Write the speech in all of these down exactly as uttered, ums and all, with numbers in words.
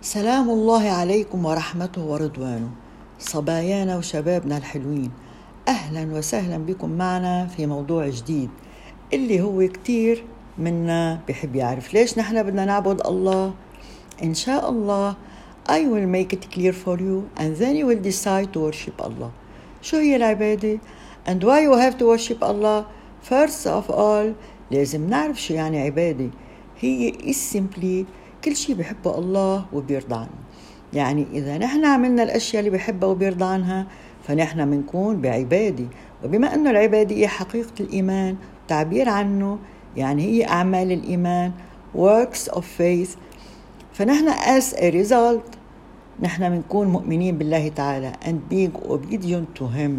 سلام الله عليكم ورحمته ورضوانه، صبايانا وشبابنا الحلوين. أهلا وسهلا بكم معنا في موضوع جديد اللي هو كتير منا بحب يعرف ليش نحن بدنا نعبد الله. إن شاء الله I will make it clear for you and then you will decide to worship Allah. شو هي العبادة and why you have to worship Allah? First of all لازم نعرف شو يعني عبادة. هي is simply كل شيء بحبه الله وبيرضى عنه. يعني إذا نحن عملنا الأشياء اللي بحبها وبيرضى عنها فنحن منكون بعبادة. وبما أنه العبادة هي حقيقة الإيمان تعبير عنه، يعني هي أعمال الإيمان works of faith، فنحن as a result نحن منكون مؤمنين بالله تعالى and being obedient to him.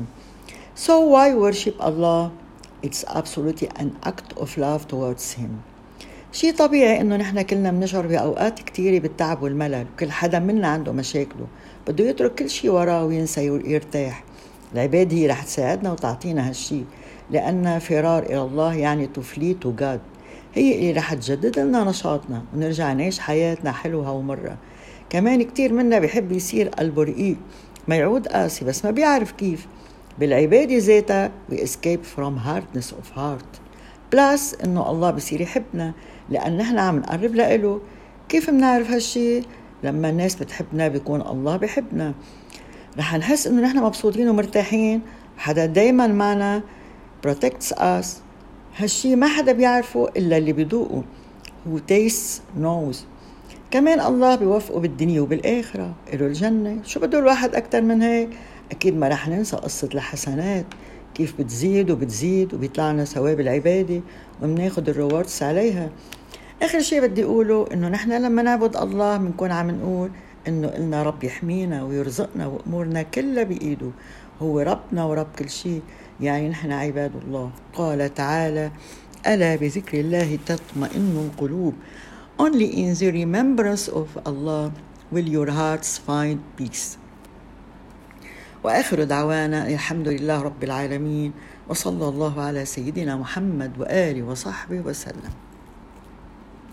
So why worship Allah? It's absolutely an act of love towards him. شيء طبيعي إنه نحن كلنا بنشعر بأوقات كتيرة بالتعب والملل، وكل حدا منا عنده مشاكله بده يترك كل شيء وراه وينسى ويرتاح. العبادة هي رح تساعدنا وتعطينا هالشي، لأن فرار إلى الله يعني to flee to God. هي اللي رح تجدد لنا نشاطنا ونرجع نعيش حياتنا حلوة ومرة. كمان كتير منا بيحب يصير قلبه رقيق، ما يعود قاسي بس ما بيعرف كيف. بالعبادة ذاتها we escape from hardness of heart. بلاس إنه الله بصير يحبنا لأن نحن عم نقرب لإله. كيف منعرف هالشي؟ لما الناس بتحبنا بيكون الله بيحبنا. رح نحس إنه نحن مبسوطين ومرتاحين، حدا دايما معنا protects us. هالشي ما حدا بيعرفه إلا اللي بيذوقه who tastes knows. كمان الله بيوفقه بالدنيا وبالآخرة، إله الجنة. شو بده الواحد أكتر من هيك؟ أكيد ما رح ننسى قصة الحسنات كيف بتزيد وبتزيد وبيطلعنا ثواب العبادة ومناخد الريوردز عليها. آخر شيء بدي أقوله إنه نحن لما نعبد الله بنكون عم نقول إنه إلنا رب يحمينا ويرزقنا وأمورنا كلها بإيده. هو ربنا ورب كل شيء، يعني نحن عباد الله. قال تعالى: ألا بذكر الله تطمئن القلوب. Only in the remembrance of Allah will your hearts find peace. وآخر دعوانا الحمد لله رب العالمين، وصلى الله على سيدنا محمد وآله وصحبه وسلم.